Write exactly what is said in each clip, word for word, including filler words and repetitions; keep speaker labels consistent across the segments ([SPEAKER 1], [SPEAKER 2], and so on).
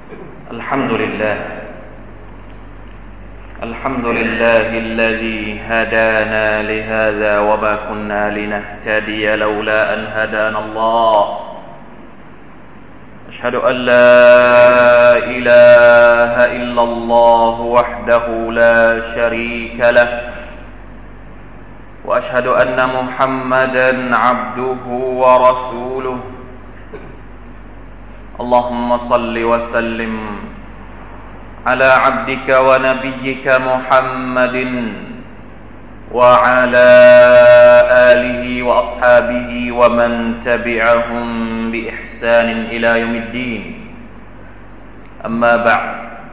[SPEAKER 1] الحمد لله الحمد لله الذي هدانا لهذا وما كنا لنهتدي لولا أن هدانا الله أشهد أن لا إله إلا الله وحده لا شريك له وأشهد أن محمدًا عبده ورسوله اللهم صل وسلم على عبدك ونبيك محمد وعلى آله وأصحابه ومن تبعهم بإحسان إلى يوم الدين أما بعد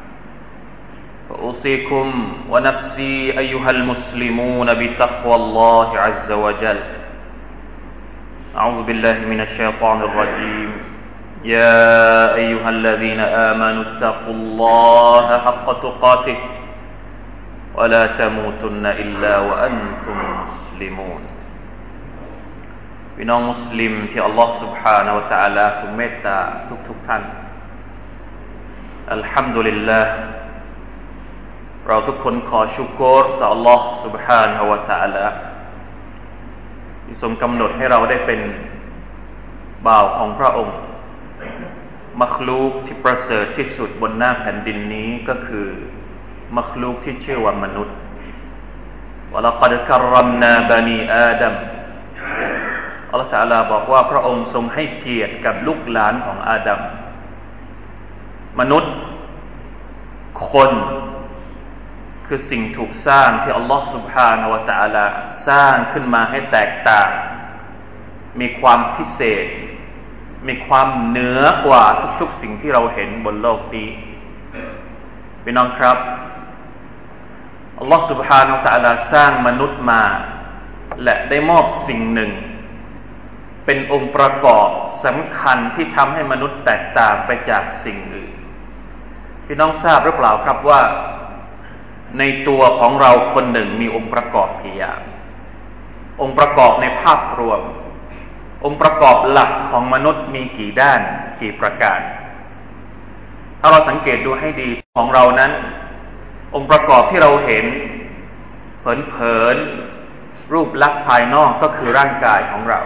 [SPEAKER 1] فأوصيكم ونفسي أيها المسلمون بتقوى الله عز وجل أعوذ بالله من الشيطان الرجيم يا أيها الذين آمنوا اتقوا الله حق تقاته ولا تموتن إلا وأنتم مسلمون พี่น้องมุสลิมที่อัลลอฮฺ سبحانه และ تعالى ทรงเมตตาทุกๆท่านอัลฮัมดุลิลลาห์เราทุกคนขอชุกรต่ออัลลอฮฺ سبحانه และ تعالى ที่ทรงกำหนดให้เราได้เป็นบ่าวของพระองค์มัคลูกที่ประเสริฐที่สุดบนหน้าแผ่นดินนี้ก็คือมัคลูกที่ชื่อว่ามนุษย์วะละกัดกัรรัมนาบะนีอาดัมอัลเลาะห์ตะอาลาบอกว่าพระองค์ทรงให้เกียรติกับลูกหลานของอาดัมมนุษย์คนคือสิ่งถูกสร้างที่อัลลอฮฺ سبحانه และ تعالى สร้างขึ้นมาให้แตกต่างมีความพิเศษมีความเหนือกว่าทุกๆสิ่งที่เราเห็นบนโลกนี้พี่น้องครับอัลลอฮฺ سبحانه และ تعالى สร้างมนุษย์มาและได้มอบสิ่งหนึ่งเป็นองค์ประกอบสำคัญที่ทำให้มนุษย์แตกต่างไปจากสิ่งอื่นพี่น้องทราบหรือเปล่าครับว่าในตัวของเราคนหนึ่งมีองค์ประกอบกี่อย่างองค์ประกอบในภาพรวมองค์ประกอบหลักของมนุษย์มีกี่ด้านกี่ประการถ้าเราสังเกตดูให้ดีของเรานั้นองค์ประกอบที่เราเห็นเผินๆรูปลักษณ์ภายนอกก็คือร่างกายของเรา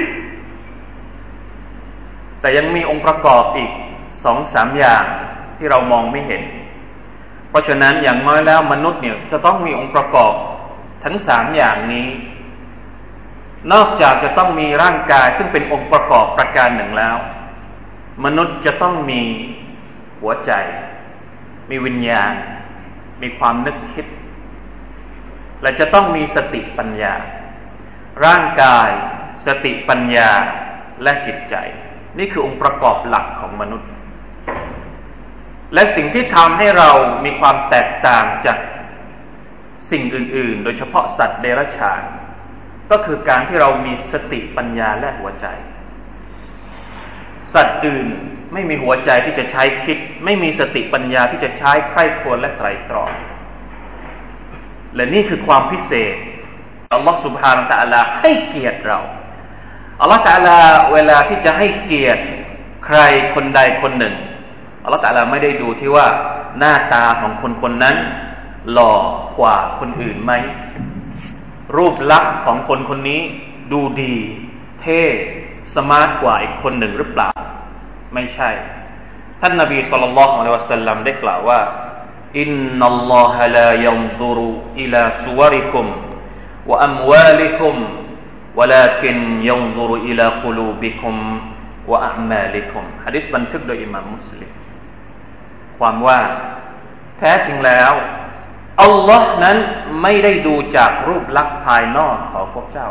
[SPEAKER 1] แต่ยังมีองค์ประกอบอีก สองถึงสาม อย่างที่เรามองไม่เห็นเพราะฉะนั้นอย่างน้อยแล้วมนุษย์เนี่ยจะต้องมีองค์ประกอบทั้งสามอย่างนี้นอกจากจะต้องมีร่างกายซึ่งเป็นองค์ประกอบประการหนึ่งแล้วมนุษย์จะต้องมีหัวใจมีวิญญาณมีความนึกคิดและจะต้องมีสติปัญญาร่างกายสติปัญญาและจิตใจนี่คือองค์ประกอบหลักของมนุษย์และสิ่งที่ทำให้เรามีความแตกต่างจากสิ่งอื่นๆโดยเฉพาะสัตว์เดรัจฉานก็คือการที่เรามีสติปัญญาและหัวใจสัตว์อื่นไม่มีหัวใจที่จะใช้คิดไม่มีสติปัญญาที่จะใช้ใคร่ครวญและไตร่ตรองและนี่คือความพิเศษอัลลอฮฺ سبحانه และ تعالى ให้เกียรติเราอัลลอฮฺ تعالى เวลาที่จะให้เกียรติใครคนใดคนหนึ่งอัลลอฮฺ تعالى ไม่ได้ดูที่ว่าหน้าตาของคนคนนั้นหล่อกว่าคนอื่นไหมรูปลักษณ์ของคนคนนี้ดูดีเท่สมาร์ทกว่าอีกคนหนึ่งหรือเปล่าไม่ใช่ท่านนบีศ็อลลัลลอฮุอะลัยฮิวะซัลลัมได้กล่าวว่าอินนัลลอฮะลายันซุรุอิลาซุวริกุมวะอัมวาลิกุมวะลาคินยันซุรุอิลากุลูบิกุมวะอะอ์มาลิกุมหะดีษบันทึกโดยอิหม่ามมุสลิมความว่าแท้จริงแล้วอัลลอฮ์นั้นไม่ได้ดูจากรูปลักษณ์ภายนอกของพวกเจ้า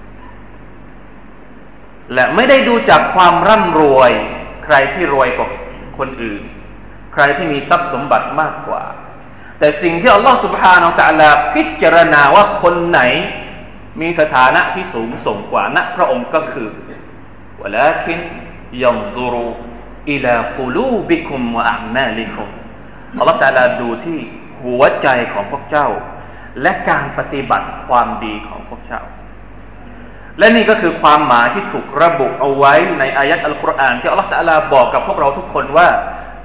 [SPEAKER 1] และไม่ได้ดูจากความร่ำรวยใครที่รวยกว่าคนอื่นใครที่มีทรัพย์สมบัติมากกว่าแต่สิ่งที่อัลลอฮ์ سبحانه และ تعالى พิจารณาว่าคนไหนมีสถานะที่สูงส่งกว่านะพระองค์ก็คือวะลาคินยันซุรุอิลากุลูบิกุมวะอะอ์มาลิกุมอัลลอฮ์ تعالى ดูที่หัวใจของพวกเจ้าและการปฏิบัติความดีของพวกเจ้าและนี่ก็คือความหมายที่ถูกระบุเอาไว้ในอายะห์อัลกุรอานที่อัลลอฮฺตะอาลาบอกกับพวกเราทุกคนว่า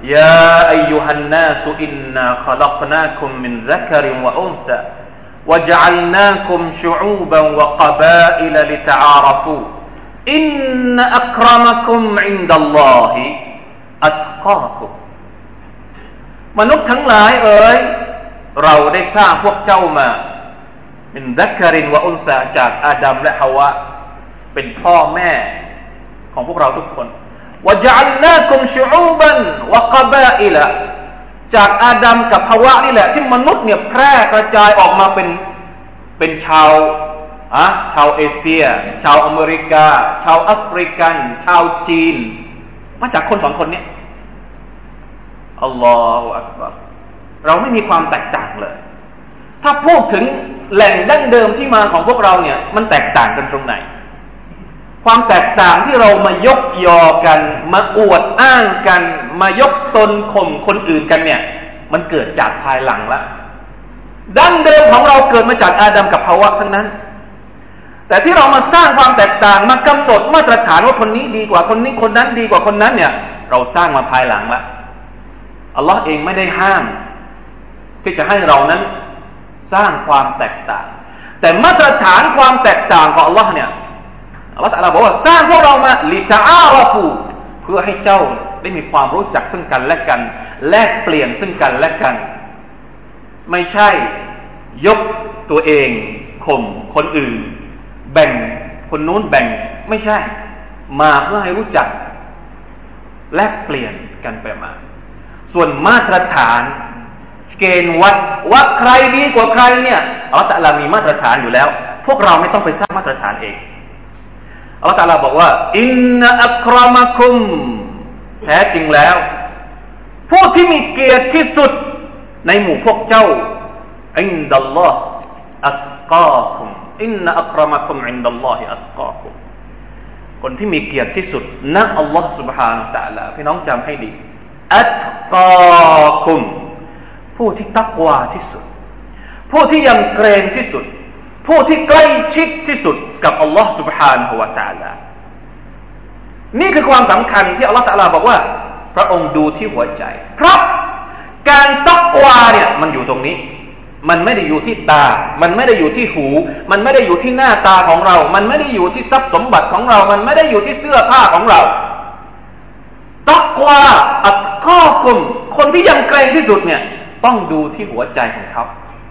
[SPEAKER 1] ยาอัยยุฮันนาสอินนาขลักนาคุมมินซักริวะอุนซาวะจัลนาคุมชุอูบันวะกะบาอิลลิตะอาราฟูอินนอักรมะคุมอินดัลลอฮิอัตกาคุมมนุษย์ทั้งหลายเอ๋ยเราได้สร้างพวกเจ้ามามินซักรินวะอุนซาจากอาดัมและฮาวะเป็นพ่อแม่ของพวกเราทุกคนวะจัลนาคุมชุอูบันวะกะบาอิลจากอาดัมกับฮาวะนี่แหละที่มนุษย์เนี่ยแพร่กระจายออกมาเป็นเป็นชาวอะชาวเอเชียชาวอเมริกาชาวแอฟริกันชาวจีนมาจากคนสองคนนี้อัลลอฮฺอักบัรเราไม่มีความแตกต่างเลยถ้าพูดถึงแหล่งดั้งเดิมที่มาของพวกเราเนี่ยมันแตกต่างกันตรงไหนความแตกต่างที่เรามายกยอกันมาอวดอ้างกันมายกตนข่มคนอื่นกันเนี่ยมันเกิดจากภายหลังละดั้งเดิมของเราเกิดมาจากอาดัมกับฮาวะทั้งนั้นแต่ที่เรามาสร้างความแตกต่างมากำหนดมาตรฐานว่าคนนี้ดีกว่าคนนี้คนนั้นดีกว่าคนนั้นเนี่ยเราสร้างมาภายหลังละอัลลอฮ์เองไม่ได้ห้ามที่จะให้เรานั้นสร้างความแตกต่างแต่มาตรฐานความแตกต่างของอัลลอฮ์เนี่ยอัลลอฮ์ตะอาลาบอกว่าสร้างพวกเรามาลิตะอาราฟูเพื่อให้เจ้าได้มีความรู้จักซึ่งกันและกันแลกเปลี่ยนซึ่งกันและกันไม่ใช่ยกตัวเองข่มคนอื่นแบ่งคนนู้นแบ่งไม่ใช่มาเพื่อให้รู้จักแลกเปลี่ยนกันไปมาส่วนมาตรฐานเกณฑ์วัดว่าใครดีกว่าใครเนี่ยอัลเลาะห์ตะอาลามีมาตรฐานอยู่แล้วพวกเราไม่ต้องไปสร้างมาตรฐานเองอัลเลาะห์ตะอาลาบอกว่าอินนะอักรมะคุมแท้จริงแล้วผู้ที่มีเกียรติที่สุดในหมู่พวกเจ้าอินดัลลอฮ์อัตกาคุมอินนะอักรมะคุมอินดัลลอฮิอัตกาคุมคนที่มีเกียรติที่สุดณอัลลอฮ์ سبحانه และ تعالى พี่น้องจำให้ดีอัตกาคุมผู้ที่ตักวาที่สุดผู้ที่ยำเกรงที่สุดผู้ที่ใกล้ชิดที่สุดกับอัลลอฮ์ سبحانه และ تعالى นี่คือความสำคัญที่อัลลอฮ์ تعالى บอกว่าพระองค์ดูที่หัวใจเพราะการตักวาเนี่ยมันอยู่ตรงนี้มันไม่ได้อยู่ที่ตามันไม่ได้อยู่ที่หูมันไม่ได้อยู่ที่หน้าตาของเรามันไม่ได้อยู่ที่ทรัพย์สมบัติของเรามันไม่ได้อยู่ที่เสื้อผ้าของเราตักวาอัตกาคุมคนที่ยำเกรงที่สุดเนี่ยต้องดูที่หัวใจของเขา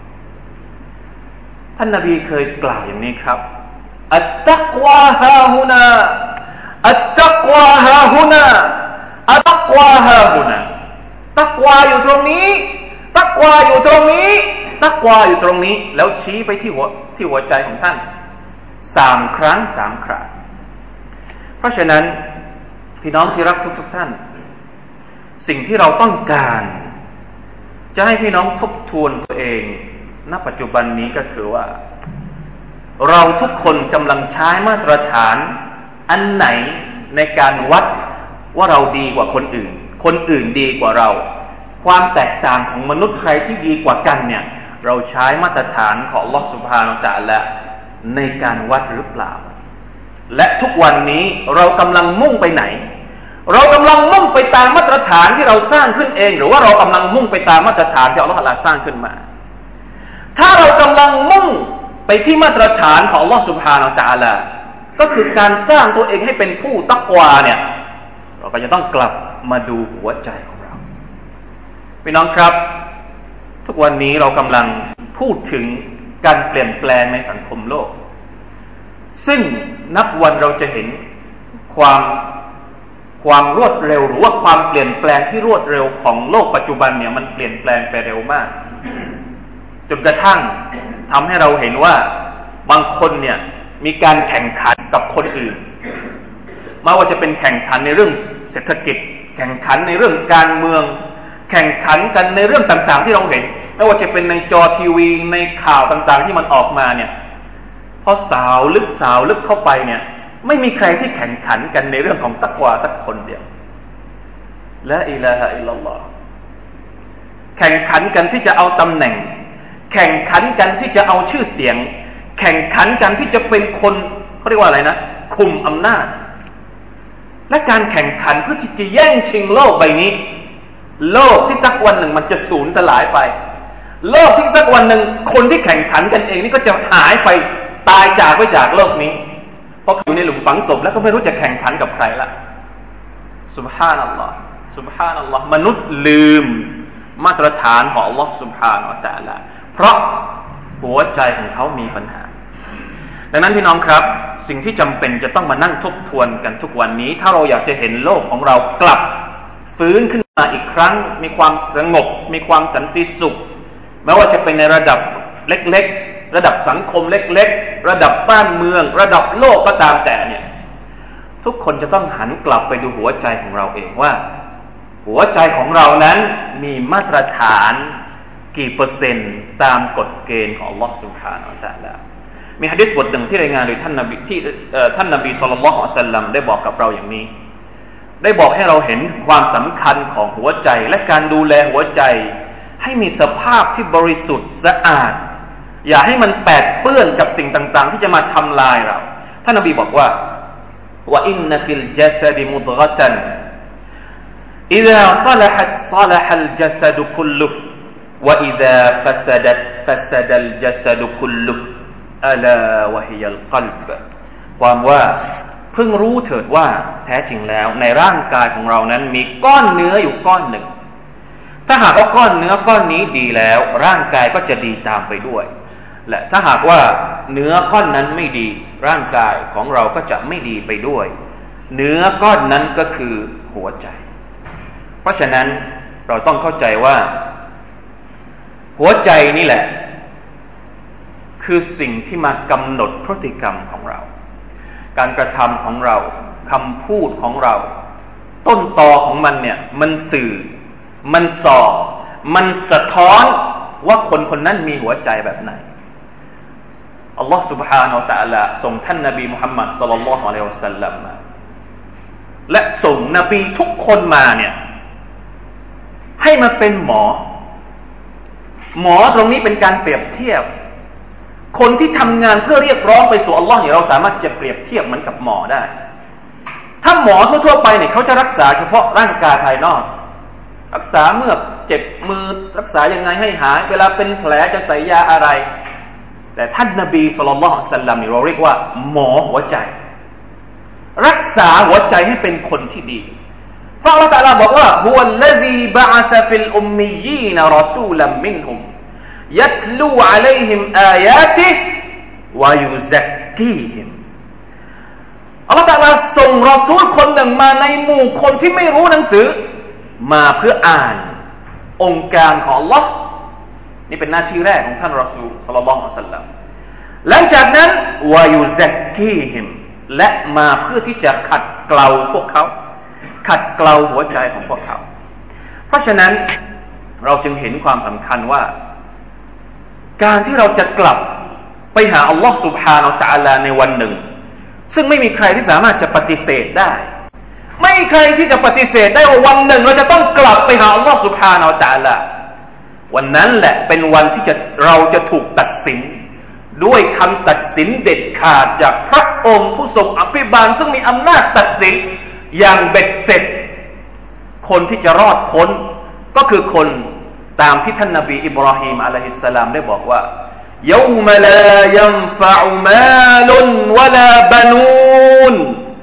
[SPEAKER 1] ท่านนบีเคยกล่าวอย่างนี้ครับอัตตักวาฮาฮุนาอัตตักวาฮาฮุนาอัตตักวาฮาฮุนาตักวาอยู่ตรงนี้ตักวาอยู่ตรงนี้ตักวาอยู่ตรงนี้แล้วชี้ไปที่หัวที่หัวใจของท่านสามครั้งสามคราเพราะฉะนั้นพี่น้องที่รักทุกๆท่านสิ่งที่เราต้องการจะให้พี่น้องทบทวนตัวเองณปัจจุบันนี้ก็คือว่าเราทุกคนกำลังใช้มาตรฐานอันไหนในการวัดว่าเราดีกว่าคนอื่นคนอื่นดีกว่าเราความแตกต่างของมนุษย์ใครที่ดีกว่ากันเนี่ยเราใช้มาตรฐานของอัลเลาะห์ซุบฮานะฮูวะตะอาลาในการวัดหรือเปล่าและทุกวันนี้เรากำลังมุ่งไปไหนเรากำลังมุ่งไปตามมาตรฐานที่เราสร้างขึ้นเองหรือว่าเรากำลังมุ่งไปตามมาตรฐานที่อัลเลาะห์ตะอาลาสร้างขึ้นมาถ้าเรากำลังมุ่งไปที่มาตรฐานของอัลเลาะห์ซุบฮานะฮูวะตะอาลาก็คือการสร้างตัวเองให้เป็นผู้ตักวาเนี่ยเราก็จะต้องกลับมาดูหัวใจของเราพี่น้องครับทุกวันนี้เรากำลังพูดถึงการเปลี่ยนแปลงในสังคมโลกซึ่งนับวันเราจะเห็นความความรวดเร็วหรือว่าความเปลี่ยนแปลงที่รวดเร็วของโลกปัจจุบันเนี่ยมันเปลี่ยนแปลงไปเร็วมากจนกระทั่งทำให้เราเห็นว่าบางคนเนี่ยมีการแข่งขันกับคนอื่นไม่ว่าจะเป็นแข่งขันในเรื่องเศรษฐกิจแข่งขันในเรื่องการเมืองแข่งขันกันในเรื่องต่างๆที่เราเห็นไม่ว่าจะเป็นในจอทีวีในข่าวต่างๆที่มันออกมาเนี่ยพอสาวลึกสาวลึกเข้าไปเนี่ยไม่มีใครที่แข่งขันกันในเรื่องของตักวาสักคนเดียวละอิลาฮะอิลลัลลอฮ์แข่งขันกันที่จะเอาตำแหน่งแข่งขันกันที่จะเอาชื่อเสียงแข่งขันกันที่จะเป็นคนเขาเรียกว่าอะไรนะคุมอำนาจและการแข่งขันเพื่อที่จะแย่งชิงโลกใบนี้
[SPEAKER 2] โลกที่สักวันหนึ่งมันจะสูญสลายไปโลกที่สักวันหนึ่งคนที่แข่งขันกันเองนี่ก็จะหายไปตายจากไปจากโลกนี้เพราะอยู่ในหลุมฝังศพแล้วก็ไม่รู้จะแข่งขันกับใครละซุบฮานัลลอฮ์ซุบฮานัลลอฮ์มนุษย์ลืมมาตรฐานของอัลลอฮ์ซุบฮานะฮูวะตะอาลาเพราะหัวใจของเขามีปัญหาดังนั้นพี่น้องครับสิ่งที่จำเป็นจะต้องมานั่งทบทวนกันทุกวันนี้ถ้าเราอยากจะเห็นโลกของเรากลับฟื้นขึ้นมาอีกครั้งมีความสงบมีความสันติสุขไม่ว่าจะเป็นในระดับเล็กๆระดับสังคมเล็กๆระดับบ้านเมืองระดับโลกก็ตามแต่เนี่ยทุกคนจะต้องหันกลับไปดูหัวใจของเราเองว่าหัวใจของเรานั้นมีมาตรฐานกี่เปอร์เซ็นต์ตามกฎเกณฑ์ของอัลลอฮฺซุบฮานะฮูวะตะอาลามีหะดีษบทหนึ่งที่รายงานโดยท่านนบีที่ท่านนบีศ็อลลัลลอฮุอะลัยฮิวะซัลลัมได้บอกกับเราอย่างนี้ได้บอกให้เราเห็นความสำคัญของหัวใจและการดูแลหัวใจให้มีสภาพที่บริสุทธิ์สะอาดอย่าให้มันแปดเปื้อนกับสิ่งต่างๆที่จะมาทำลายเราท่านนบีบอกว่าวะอินนะฟิลจัสดิมุฎฆะตันอิซาศะละฮัตศะละฮัลจัสดุคุลลุวะอิซาฟะซะดัตฟะซะดัลจัสดุคุลลุอะลาวะฮิยัลกัลบความว่าเพิ่งรู้เถิดว่าแท้จริงแล้วในร่างกายของเรานั้นมีก้อนเนื้ออยู่ก้อนหนึ่งถ้าหากว่าก้อนเนื้อก้อนนี้ดีแล้วร่างกายก็จะดีตามไปด้วยและถ้าหากว่าเนื้อก้อนนั้นไม่ดีร่างกายของเราก็จะไม่ดีไปด้วยเนื้อก้อนนั้นก็คือหัวใจเพราะฉะนั้นเราต้องเข้าใจว่าหัวใจนี่แหละคือสิ่งที่มากำหนดพฤติกรรมของเราการกระทำของเราคำพูดของเราต้นตอของมันเนี่ยมันสื่อมันสอบมันสะท้อนว่าคนคนนั้นมีหัวใจแบบไหนอัลลอฮฺ سبحانه และ تعالى ส่งท่านนบีมุฮัมมัดศ็อลลัลลอฮุอะลัยฮิวะซัลลัมมาและส่งนบีทุกคนมาเนี่ยให้มาเป็นหมอหมอตรงนี้เป็นการเปรียบเทียบคนที่ทำงานเพื่อเรียกร้องไปสู่อัลลอฮ์เนี่ยเราสามารถที่จะเปรียบเทียบเหมือนกับหมอได้ถ้าหมอทั่วๆไปเนี่ยเขาจะรักษาเฉพาะร่างกายภายนอกรักษาเมื่อเจ็บมือรักษายังไงให้หายเวลาเป็นแผลจะใส่ยาอะไรแต่ท่านนบีศ็อลลัลลอฮุอะลัยฮิวะซัลลัมนี่เราเรียกว่าหมอหัวใจรักษาหัวใจให้เป็นคนที่ดีเพราะอัลเลาะห์ตะอาลาบอกว่าฮุวัลลซีบะอะซะฟิลอุมมียีนรอซูลัมมินฮุมยัตลูอะลัยฮิมอายาติฮิวะยุซักกีฮิมอัลเลาะห์ตะอาลาส่งรอซูลคนหนึ่งมาในหมู่คนที่ไม่รู้หนังสือมาเพื่ออ่านองค์การของอัลเลาะห์นี่เป็นหน้าที่แรกของท่านรอซูลศ็อลลัลลอฮุอะลัยฮิวะซัลลัมหลังจากนั้นวะยุซักกีฮิมและมาเพื่อที่จะขัดเกลาพวกเขาขัดเกลาหัวใจของพวกเขาเพราะฉะนั้นเราจึงเห็นความสำคัญว่าการที่เราจะกลับไปหาอัลลอฮ์ سبحانه และ تعالى ในวันหนึ่งซึ่งไม่มีใครที่สามารถจะปฏิเสธได้ไม่มีใครที่จะปฏิเสธได้ว่าวันหนึ่งเราจะต้องกลับไปหาอัลลอฮ์ سبحانه และ تعالى วันนั้นแหละเป็นวันที่จะเราจะถูกตัดสินด้วยคำตัดสินเด็ดขาดจากพระองค์ผู้ทรงอภิบาลซึ่งมีอำนาจตัดสินอย่างเบ็ดเสร็จคนที่จะรอดพ้นก็คือคนตามที่ท่านนบีอิบราฮิมอะลัยฮิสสลามได้บอกว่าيوم لا ينفع مال ولا بنون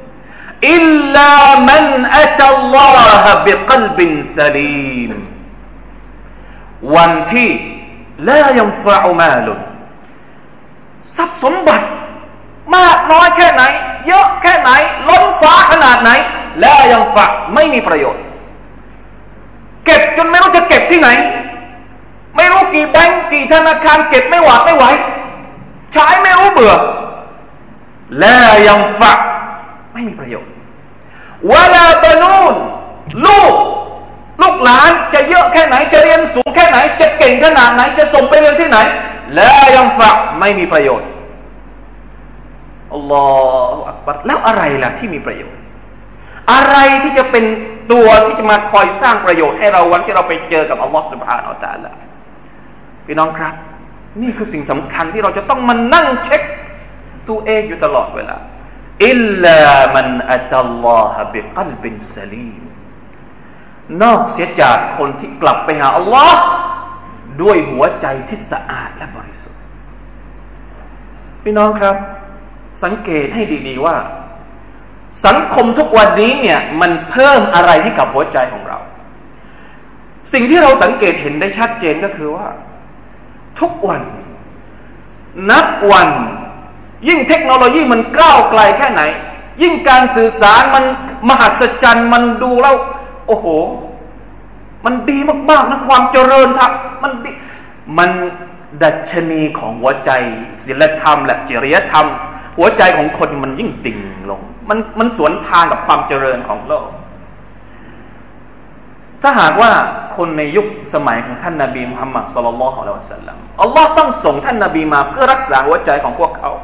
[SPEAKER 2] إلا من أتى الله بقلب سليم วันที่ لا ينفع مال ทรัพย์สมบัติมากน้อยแค่ไหนเยอะแค่ไหนล้นฟ้าขนาดไหน لا ينفع ไม่มีประโยชน์เก็บจนไม่รู้จะเก็บที่ไหนไม่รู้กี่แบงก์กี่ธนาคารเก็บไม่หวาดไม่ไหวใช้ไม่รู้เบื่อแล้วยังฝากไม่มีประโยชน์วะลาบานูนลูกลูกหลานจะเยอะแค่ไหนจะเรียนสูงแค่ไหนจะเก่งขนาดไหนจะส่งไปเรียนที่ไหนแล้วยังฝากไม่มีประโยชน์อัลลอฮฺอักบัรแล้วอะไรล่ะที่มีประโยชน์อะไรที่จะเป็นตัวที่จะมาคอยสร้างประโยชน์ให้เราวันที่เราไปเจอกับอัลลอฮฺซุบฮานะฮูวะตะอาลาพี่น้องครับนี่คือสิ่งสำคัญที่เราจะต้องมานั่งเช็คตัวเองอยู่ตลอดเวลาอิลลามันอัตัลลอฮะบิกัลบินซะลีมนอกเสียจากคนที่กลับไปหาอัลลอฮ์ด้วยหัวใจที่สะอาดและบริสุทธิ์พี่น้องครับสังเกตให้ดีๆว่าสังคมทุกวันนี้เนี่ยมันเพิ่มอะไรให้กับหัวใจของเราสิ่งที่เราสังเกตเห็นได้ชัดเจนก็คือว่าทุกวันนับวันยิ่งเทคโนโลยีมันก้าวไกลแค่ไหนยิ่งการสื่อสารมันมหัศจรรย์มันดูแล้วโอ้โหมันดีมากๆนะความเจริญทับมันดีมันดัชนีของหัวใจศีลธรรมและจริยธรรมหัวใจของคนมันยิ่งดิ่งลงมันมันสวนทางกับความเจริญของโลกถ้าหากว่าคนในยุคสมัยของท่านนบีมุฮัมมัดศ็อลลัลลอฮุอะลัยฮิวะซัลลัมอัลลอฮ์ต้องส่งท่านนบีมาเพื่อรักษาหัวใจของพวกเขา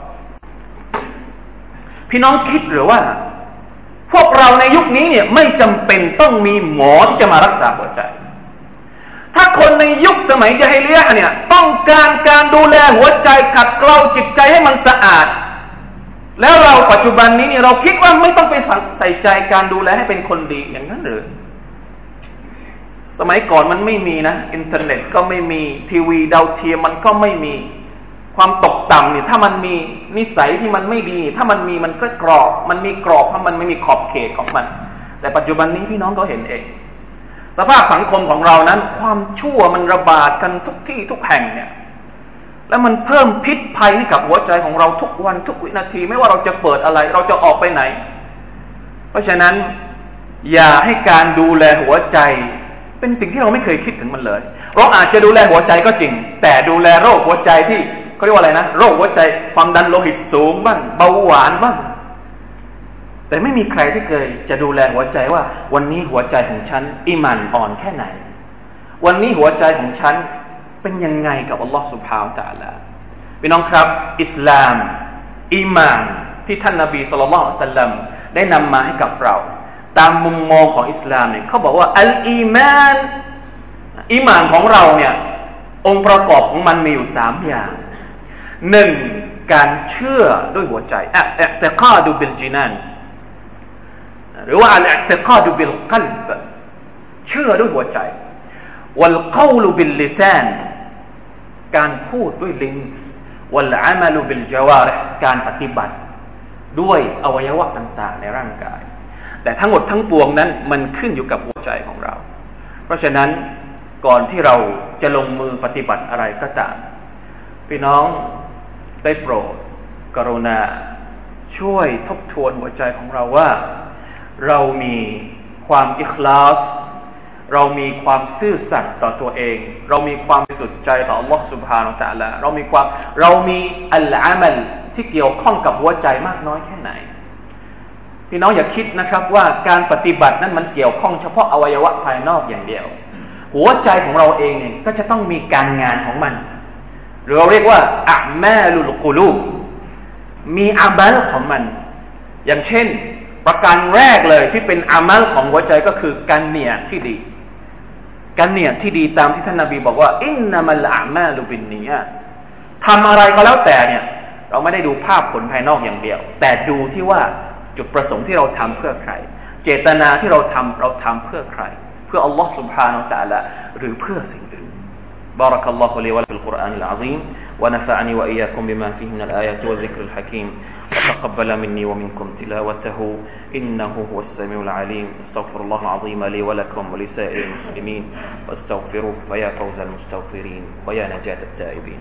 [SPEAKER 2] พี่น้องคิดหรือว่าพวกเราในยุคนี้เนี่ยไม่จำเป็นต้องมีหมอที่จะมารักษาหัวใจถ้าคนในยุคสมัยญะฮิลิยะห์เนี่ยต้องการการดูแลหัวใจขัดเกลาจิตใจให้มันสะอาดแล้วเราปัจจุบันนี้เนี่ยเราคิดว่าไม่ต้องไปใส่ใจการดูแลให้เป็นคนดีอย่างนั้นหรือสมัยก่อนมันไม่มีนะอินเทอร์เน็ตก็ไม่มีทีวีดาวเทียมมันก็ไม่มีความตกต่ำเนี่ยถ้ามันมีนิสัยที่มันไม่ดีถ้ามันมีมันก็กรอบมันมีกรอบเพราะมันไม่มีขอบเขตของมันแต่ปัจจุบันนี้พี่น้องก็เห็นเองสภาพสังคมของเรานั้นความชั่วมันระบาดกันทุกที่ทุกแห่งเนี่ยแล้วมันเพิ่มพิษภัยให้กับหัวใจของเราทุกวันทุกวินาทีไม่ว่าเราจะเปิดอะไรเราจะออกไปไหนเพราะฉะนั้นอย่าให้การดูแลหัวใจเป็นสิ่งที่เราไม่เคยคิดถึงมันเลยเราอาจจะดูแลหัวใจก็จริงแต่ดูแลโรคหัวใจที่เขาเรียกว่าอะไรนะโรคหัวใจความดันโลหิตสูงบ้างเบาหวานบ้างแต่ไม่มีใครที่เคยจะดูแลหัวใจว่าวันนี้หัวใจของฉันอีหม่านอ่อนแค่ไหนวันนี้หัวใจของฉันเป็นยังไงกับอัลลอฮฺซุบฮานะฮูวะตะอาลาพี่น้องครับอิสลามอีหม่านที่ท่านนบีศ็อลลัลลอฮุอะลัยฮิวะซัลลัมได้นำมาให้กับเราตามมุมมองของอิสลามเนี่ยเขาบอกว่าอัลอีมานอีหม่านของเราเนี่ยองค์ประกอบของมันมีอยู่สามอย่างหนึ่งการเชื่อด้วยหัวใจอะอิอ์ติกาดุบิลจินานหรือว่าอัลอิอ์ติกาดุบิลกัลบเชื่อด้วยหัวใจวัลกอลุบิลลิซานการพูดด้วยลิ้นวัลอะมัลบิลญะวาริฮการปฏิบัติด้วยอวัยวะต่างๆในร่างกายแต่ทั้งหมดทั้งปวงนั้นมันขึ้นอยู่กับหัวใจของเราเพราะฉะนั้นก่อนที่เราจะลงมือปฏิบัติอะไรก็ตามพี่น้องได้โปรดกรุณาช่วยทบทวนหัวใจของเราว่าเรามีความอิคลาสเรามีความซื่อสัตย์ต่อตัวเองเรามีความบริสุทธิ์ใจต่อ Allah Subhanahu Wa Taala เรามีความเรามีอัลอามัลที่เกี่ยวข้องกับหัวใจมากน้อยแค่ไหนพี่น้องอย่าคิดนะครับว่าการปฏิบัตินั้นมันเกี่ยวข้องเฉพาะอวัยวะภายนอกอย่างเดียวหัวใจของเราเองเนี่ยก็จะต้องมีการงานของมันหรือเราเรียกว่าอะมาลุลกุลูบมีอามัลของมันอย่างเช่นประการแรกเลยที่เป็นอามัลของหัวใจก็คือการเนียดที่ดีการเนียดที่ดีตามที่ท่านนบีบอกว่าอินนัมัลอามาลุบินนียาตทำอะไรก็แล้วแต่เนี่ยเราไม่ได้ดูภาพผลภายนอกอย่างเดียวแต่ดูที่ว่าจุดประสงค์ที่เราทำเพื่อใครเจตนาที่เราทำเราทำเพื่อใครเพื่ออัลลอฮ์ سبحانه และ تعالى หรือเพื่อสิ่งอื่น بارك الله لي ولكم في القرآن العظيم ونفعني وإياكم بما فيه من الآيات والذكر الحكيم وتقبل مني ومنكم تلاوته إنه هو السميع العليم استغفر الله العظيم لي ولكم ولسائر المسلمين واستغفروه فيا فوز المستغفرين ويا نجاة التائبين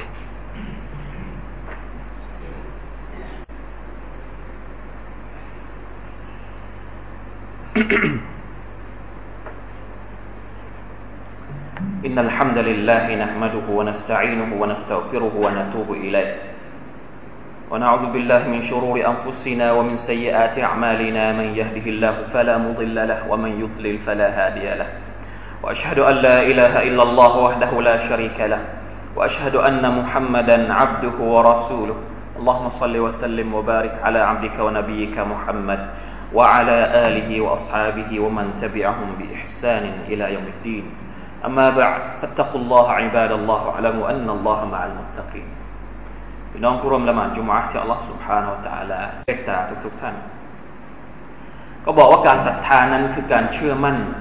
[SPEAKER 2] إن الحمد لله نحمده ونستعينه ونستغفره ونتوب إليه ونعوذ بالله من شرور أنفسنا ومن سيئات أعمالنا من يهده الله فلا مضل له ومن يضلل فلا هادي له وأشهد أن لا إله إلا الله وحده لا شريك له وأشهد أن محمدا عبده ورسوله اللهم صل وسلم وبارك على عبدك ونبيك محمد وعلى آله وأصحابه ومن تبعهم بإحسان إلى يوم الدين أما بعد فاتقوا الله عباد الله واعلموا أن الله مع المتقين พี่น้องผู้ร่วมละหมาดจุมอะห์ที่อัลเลาะห์ซุบฮานะฮูวะตะอาลาเมตตาทุกๆท่านก็บอกว่าการศรัทธานั้นคือการเชื่อมั่น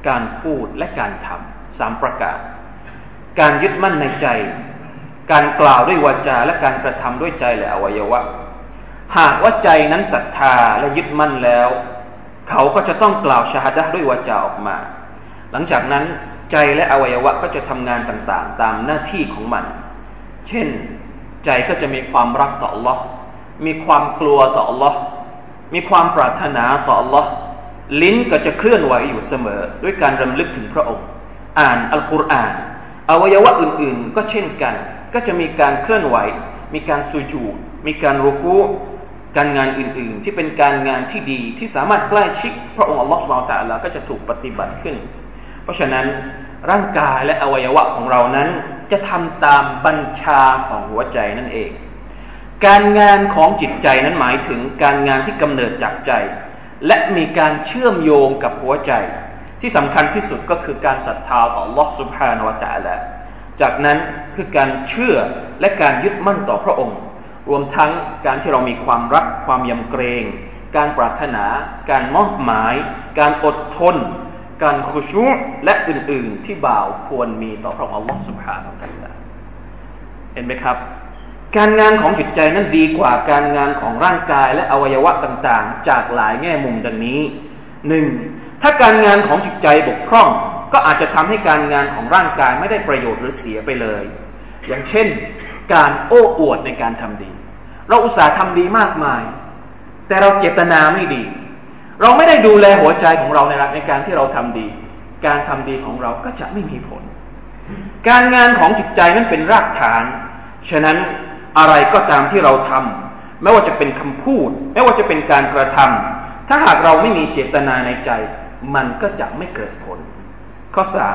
[SPEAKER 2] การพูดและการทำสามประการการยึดมั่นในใจการกล่าวด้วยวาจาและการกระทำด้วยใจและอวัยวะหากว่าใจนั้นศรัทธาและยึดมั่นแล้วเขาก็จะต้องกล่าวชะฮาดะห์ด้วยวาจาออกมาหลังจากนั้นใจและอวัยวะก็จะทำงานต่างๆตามหน้าที่ของมันเช่นใจก็จะมีความรักต่อ Allah มีความกลัวต่อ Allah มีความปรารถนาต่อ Allah ลิ้นก็จะเคลื่อนไหวอยู่เสมอด้วยการรำลึกถึงพระองค์อ่านอัลกุรอานอวัยวะอื่นๆก็เช่นกันก็จะมีการเคลื่อนไหวมีการสุญูดมีการรุกูอ์การงานอื่นๆที่เป็นการงานที่ดีที่สามารถใกล้ชิดพระองค์อัลลอฮฺซุบฮานะฮูวะตะอาลาก็จะถูกปฏิบัติขึ้นเพราะฉะนั้นร่างกายและอวัยวะของเรานั้นจะทำตามบัญชาของหัวใจนั่นเองการงานของจิตใจนั้นหมายถึงการงานที่กำเนิดจากใจและมีการเชื่อมโยงกับหัวใจที่สำคัญที่สุดก็คือการศรัทธาต่อ Allah Subhanahu wa Taala จากนั้นคือการเชื่อและการยึดมั่นต่อพระองค์รวมทั้งการที่เรามีความรักความยำเกรงการปรารถนาการมอบหมายการอดทนการคุชูอ์และอื่นๆที่บ่าวควรมีต่อพระองค์ Allah Subhanahu wa Taala เห็นไหมครับการงานของจิตใจนั้นดีกว่าการงานของร่างกายและอวัยวะต่างๆจากหลายแง่มุมดังนี้หนึ่งถ้าการงานของจิตใจบกพร่องก็อาจจะทำให้การงานของร่างกายไม่ได้ประโยชน์หรือเสียไปเลยอย่างเช่นการโอ้อวดในการทำดีเราอุตส่าห์ทำดีมากมายแต่เราเจตนาไม่ดีเราไม่ได้ดูแลหัวใจของเราในในการที่เราทำดีการทำดีของเราก็จะไม่มีผลการงานของจิตใจนั้นเป็นรากฐานฉะนั้นอะไรก็ตามที่เราทำไม่ว่าจะเป็นคำพูดไม่ว่าจะเป็นการกระทำถ้าหากเราไม่มีเจตนาในใจมันก็จะไม่เกิดผลข้อสาม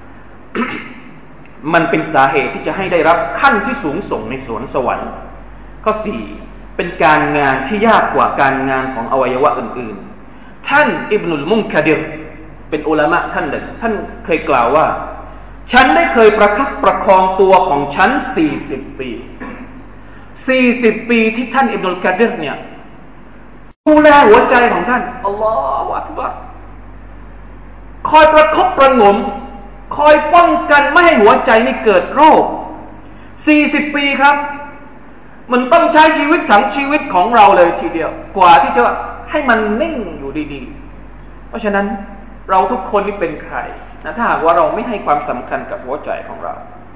[SPEAKER 2] มันเป็นสาเหตุที่จะให้ได้รับขั้นที่สูงส่งในสวนสวรรค์ข้อสี่เป็นการงานที่ยากกว่าการงานของอวัยวะอื่นๆท่านอิบนุลมุนคาดิรเป็นอุลามะท่านหนึ่งท่านเคยกล่าวว่าฉันได้เคยประคับประคองตัวของฉันสี่สิบปีสี่สิบปีที่ท่านอิบนุลกาดิรเนี่ยดูแลหัวใจของท่านอัลลอฮฺอักบัรคอยประคบประหงมคอยป้องกันไม่ให้หัวใจนี่เกิดโรคสี่สิบปีครับมันต้องใช้ชีวิตทั้งชีวิตของเราเลยทีเดียวกว่าที่จะให้มันนิ่งอยู่ดีๆเพราะฉะนั้นเราทุกคนนี่เป็นใครนะถ้าหากว่าเราไม่ให้ความสำคัญกับหัวใจของเรา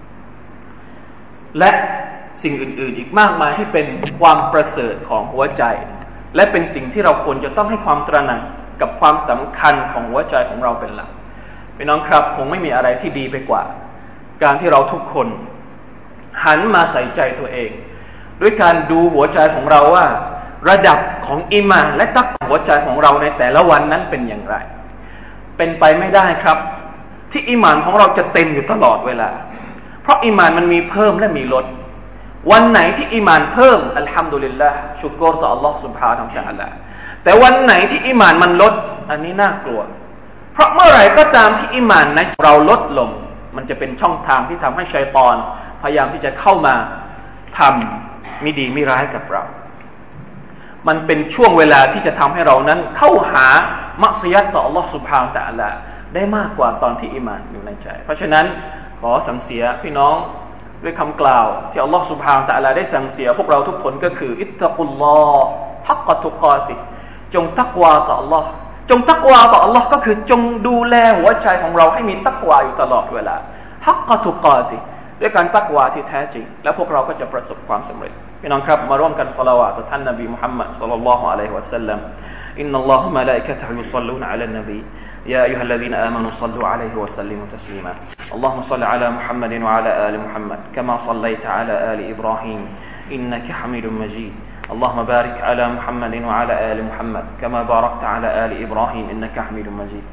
[SPEAKER 2] และสิ่งอื่นๆอีกมากมายที่เป็นความประเสริฐของหัวใจและเป็นสิ่งที่เราควรจะต้องให้ความตระหนักกับความสำคัญของหัวใจของเราเป็นหลักพี่น้องครับคงไม่มีอะไรที่ดีไปกว่าการที่เราทุกคนหันมาใส่ใจตัวเองด้วยการดูหัวใจของเราว่าระดับของอีหม่านและตักวะหัวใจของเราในแต่ละวันนั้นเป็นอย่างไรเป็นไปไม่ได้ครับที่อีหม่านของเราจะเต็มอยู่ตลอดเวลาเพราะอีหม่านมันมีเพิ่มและมีลดวันไหนที่อีหม่านเพิ่มอัลฮัมดุลิลลาห์ชุกรต่ออัลลอฮฺ سبحانه และ تعالى แต่วันไหนที่อีหม่านมันลดอันนี้น่ากลัวเพราะเมื่อไหร่ก็ตามที่อีหม่านนั้นเราลดลงมันจะเป็นช่องทางที่ทำให้ชัยฏอนพยายามที่จะเข้ามาทำไม่ดีไม่ร้ายกับเรามันเป็นช่วงเวลาที่จะทำให้เรานั้นเข้าหามักซิยัตต่ออัลลอฮฺ سبحانه และ تعالى ได้มากกว่าตอนที่อีหม่านอยู่ในใจเพราะฉะนั้นขอสั่งเสียพี่น้องด้วยคำกล่าวที่อัลลอฮฺ سبحانه และ تعالى ได้สั่งเสียพวกเราทุกคนก็คืออิตตักุลลอฮ์ฮักกะตุกาติจงตักวาต่ออัลลอฮ์จงตักวาต่ออัลลอฮ์ก็คือจงดูแลหัวใจของเราให้มีตักวาอยู่ตลอดเวลาฮักกะตุกาติด้วยการตักวาที่แท้จริงแล้วพวกเราก็จะประสบความสำเร็จพี่น้องครับมาร่วมกันศอลาวาตต่อท่านนบีมุฮัมมัดศ็อลลัลลอฮุอะลัยฮิวะซัลลัมอินนัลลอฮะมะลาอิกะตุฮุยุศ็อลลูนอะลันนบี يا أيها الذين آمنوا صلوا عليه وسلموا تسليما اللهم صل على محمد وعلى آل محمد كما صليت على آل إبراهيم إنك حميد مجيد اللهم بارك على محمد وعلى آل محمد كما باركت على آل إبراهيم إنك حميد مجيد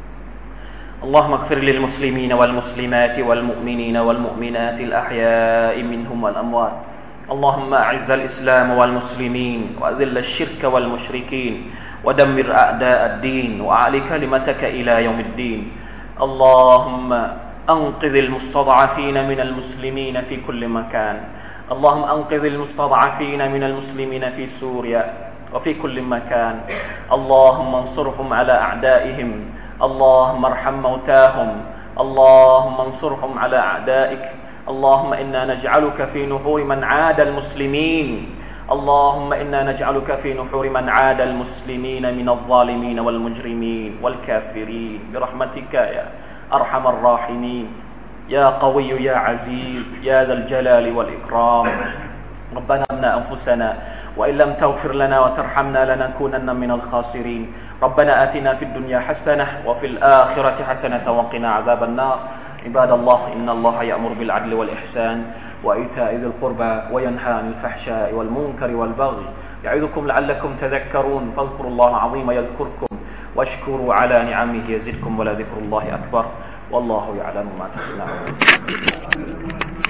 [SPEAKER 2] اللهم اغفر للمسلمين والمسلمات والمؤمنين والمؤمنات الأحياء منهم والأموات اللهم أعز الإسلام والمسلمين وأذل الشرك والمشركين ودمر أعداء الدين وأعل كلمتك إلى يوم الدين اللهم أنقذ المستضعفين من المسلمين في كل مكان اللهم أنقذ المستضعفين من المسلمين في سوريا وفي كل مكان اللهم انصرهم على أعدائهم اللهم ارحم موتاهم اللهم انصرهم على أعدائك اللهم إنا نجعلك في نحور من عاد المسلمين اللهم إنا نجعلك في نحور من عاد المسلمين من الظالمين والمجرمين والكافرين برحمتك يا أرحم الراحمين يا قوي يا عزيز يا ذا الجلال والإكرام ربنا ظلمنا أنفسنا وإن لم تغفر لنا وترحمنا لنكونن من الخاسرين ربنا آتنا في الدنيا حسنة وفي الآخرة حسنة وقنا عذاب النار عباد الله إن الله يأمر بالعدل والإحسان وإيتاء ذي القربى وينهى عن الفحشاء والمنكر والبغي يعظكم لعلكم تذكرون فاذكروا الله العظيم يذكركم واشكروا على نعمه يزدكم ولذكر الله أكبر والله يعلم ما تصنعون